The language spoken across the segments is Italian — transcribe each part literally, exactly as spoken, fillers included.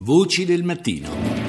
Voci del mattino.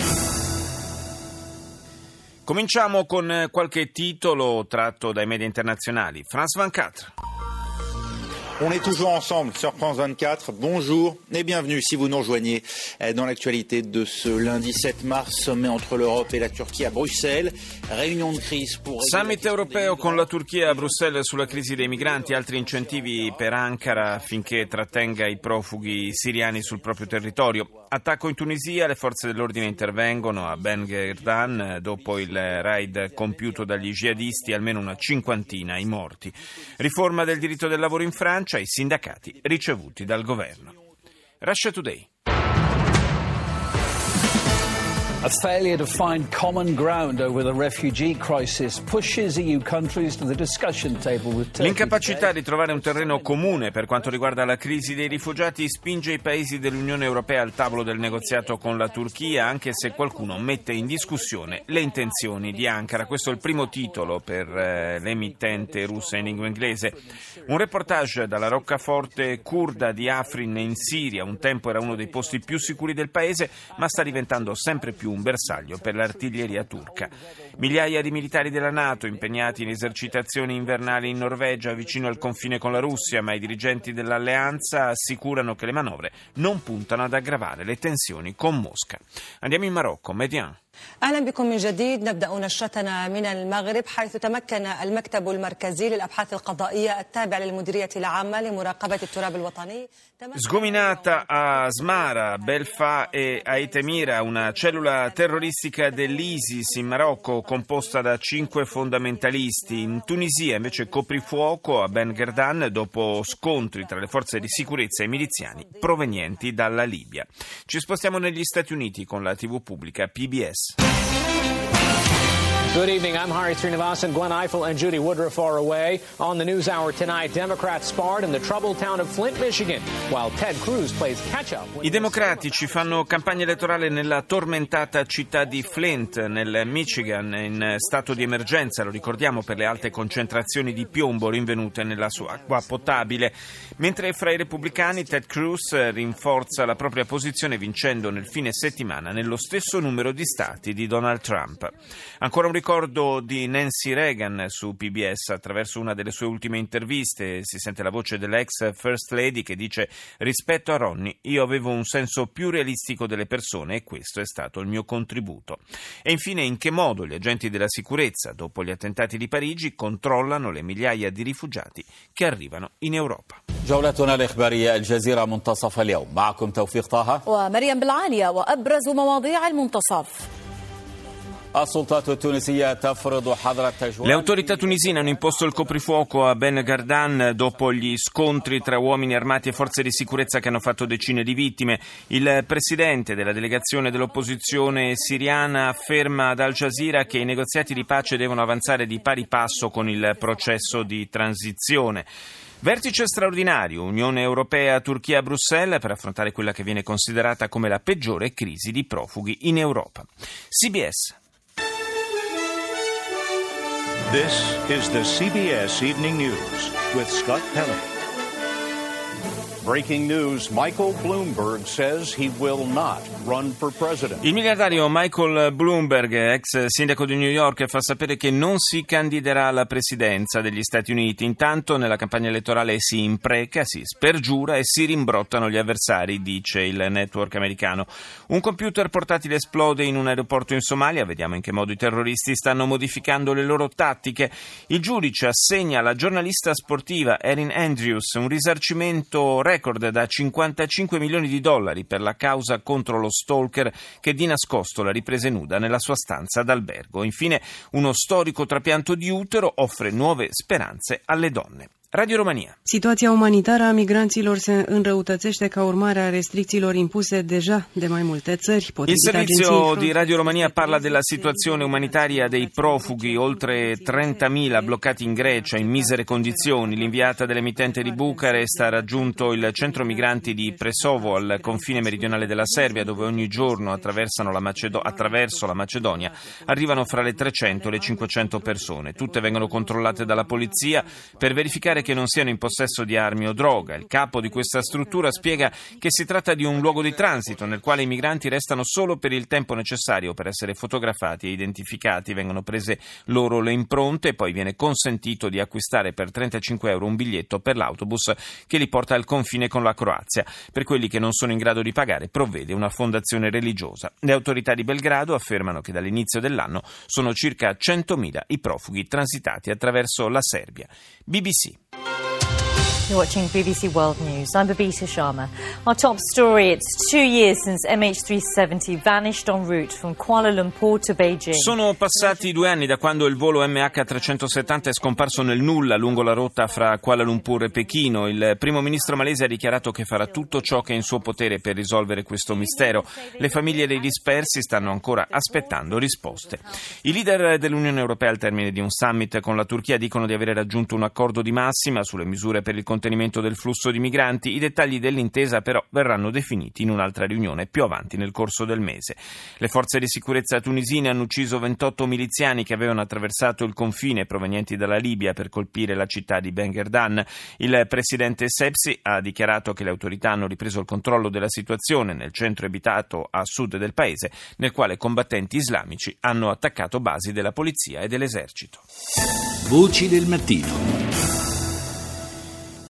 Cominciamo con qualche titolo tratto dai media internazionali. France vingt-quatre. On est toujours ensemble sur France vingt-quatre. Bonjour et bienvenue si vous nous rejoignez dans l'actualité de ce lundi sept mars, sommet entre l'Europe et la Turchia a Bruxelles. Réunion de crise pour... Summit europeo con la Turchia a Bruxelles sulla crisi dei migranti, altri incentivi per Ankara affinché trattenga i profughi siriani sul proprio territorio. Attacco in Tunisia, le forze dell'ordine intervengono a Ben Gherdan dopo il raid compiuto dagli jihadisti, almeno una cinquantina i morti. Riforma del diritto del lavoro in Francia, i sindacati ricevuti dal governo. Russia Today. A failure to find common ground over the refugee crisis pushes E U countries to the discussion table with Turkey. L'incapacità di trovare un terreno comune per quanto riguarda la crisi dei rifugiati spinge i paesi dell'Unione Europea al tavolo del negoziato con la Turchia, anche se qualcuno mette in discussione le intenzioni di Ankara. Questo è il primo titolo per eh, l'emittente russa in lingua inglese. Un reportage dalla roccaforte curda di Afrin in Siria. Un tempo era uno dei posti più sicuri del paese, ma sta diventando sempre più un bersaglio per l'artiglieria turca. Migliaia di militari della NATO impegnati in esercitazioni invernali in Norvegia vicino al confine con la Russia, ma i dirigenti dell'alleanza assicurano che le manovre non puntano ad aggravare le tensioni con Mosca. Andiamo in Marocco, Median. أهلا بكم من جديد. نبدأ نشرتنا من المغرب حيث تمكن المكتب المركزي للأبحاث القضائية التابع للمديرية العامة لمراقبة التراب الوطني. Sgominata a Smara, Belfa e Aitemira, una cellula terroristica dell'ISIS in Marocco composta da cinque fondamentalisti. In Tunisia invece coprifuoco a Ben Gherdan dopo scontri tra le forze di sicurezza e i miliziani provenienti dalla Libia. Ci spostiamo negli Stati Uniti con la tivù pubblica P B S. Good evening, I'm Hari Srinivasan. Gwen Ifill and Judy Woodruff are away. On the News Hour tonight, Democrats sparred in the troubled town of Flint, Michigan, while Ted Cruz plays catch-up. I democratici fanno campagna elettorale nella tormentata città di Flint, nel Michigan, in stato di emergenza, lo ricordiamo, per le alte concentrazioni di piombo rinvenute nella sua acqua potabile. Mentre fra i repubblicani Ted Cruz rinforza la propria posizione vincendo nel fine settimana nello stesso numero di stati di Donald Trump. Ancora un ricordo di Nancy Reagan su P B S attraverso una delle sue ultime interviste. Si sente la voce dell'ex First Lady che dice: rispetto a Ronnie io avevo un senso più realistico delle persone e questo è stato il mio contributo. E infine, in che modo gli agenti della sicurezza dopo gli attentati di Parigi controllano le migliaia di rifugiati che arrivano in Europa. جولتنا الإخبارية الجزيرة منتصف اليوم معكم توفيق طه ومريم بالعالية وأبرز مواضيع المنتصف. Le autorità tunisine hanno imposto il coprifuoco a Ben Gherdan dopo gli scontri tra uomini armati e forze di sicurezza che hanno fatto decine di vittime. Il presidente della delegazione dell'opposizione siriana afferma ad Al Jazeera che i negoziati di pace devono avanzare di pari passo con il processo di transizione. Vertice straordinario, Unione Europea, Turchia a Bruxelles per affrontare quella che viene considerata come la peggiore crisi di profughi in Europa. C B S. This is the C B S Evening News with Scott Pelley. Breaking news, Michael Bloomberg says he will not run for president. Il miliardario Michael Bloomberg, ex sindaco di New York, fa sapere che non si candiderà alla presidenza degli Stati Uniti. Intanto nella campagna elettorale si impreca, si spergiura e si rimbrottano gli avversari, dice il network americano. Un computer portatile esplode in un aeroporto in Somalia. Vediamo in che modo i terroristi stanno modificando le loro tattiche. Il giudice assegna alla giornalista sportiva Erin Andrews un risarcimento record da cinquantacinque milioni di dollari per la causa contro lo stalker che di nascosto la riprese nuda nella sua stanza d'albergo. Infine, uno storico trapianto di utero offre nuove speranze alle donne. Radio Romania. Situația umanitară a migranților se înrăutățește ca urmare a restricțiilor impuse deja de mai multe țări. Il servizio di Radio Romania parla della situazione umanitaria dei profughi, oltre trentamila bloccati in Grecia in misere condizioni. L'inviata dell'emittente di Bucarest ha raggiunto il centro migranti di Presovo al confine meridionale della Serbia, dove ogni giorno attraversano la Macedo- attraverso la Macedonia arrivano fra le trecento e le cinquecento persone. Tutte vengono controllate dalla polizia per verificare verificare che non siano in possesso di armi o droga. Il capo di questa struttura spiega che si tratta di un luogo di transito nel quale i migranti restano solo per il tempo necessario per essere fotografati e identificati, vengono prese loro le impronte e poi viene consentito di acquistare per trentacinque euro un biglietto per l'autobus che li porta al confine con la Croazia. Per quelli che non sono in grado di pagare provvede una fondazione religiosa. Le autorità di Belgrado affermano che dall'inizio dell'anno sono circa centomila i profughi transitati attraverso la Serbia. B B C. You're watching B B C World News. I'm Babita Sharma. Our top story, it's two years since M H three seventy vanished en route from Kuala Lumpur to Beijing. Sono passati due anni da quando il volo M H trecentosettanta è scomparso nel nulla lungo la rotta fra Kuala Lumpur e Pechino. Il primo ministro malese ha dichiarato che farà tutto ciò che è in suo potere per risolvere questo mistero. Le famiglie dei dispersi stanno ancora aspettando risposte. I leader dell'Unione Europea al termine di un summit con la Turchia dicono di avere raggiunto un accordo di massima sulle misure per il contenimento del flusso di migranti. I dettagli dell'intesa però verranno definiti in un'altra riunione più avanti nel corso del mese. Le forze di sicurezza tunisine hanno ucciso ventotto miliziani che avevano attraversato il confine provenienti dalla Libia per colpire la città di Ben Gherdan. Il presidente Sepsi ha dichiarato che le autorità hanno ripreso il controllo della situazione nel centro abitato a sud del paese, nel quale combattenti islamici hanno attaccato basi della polizia e dell'esercito. Voci del mattino.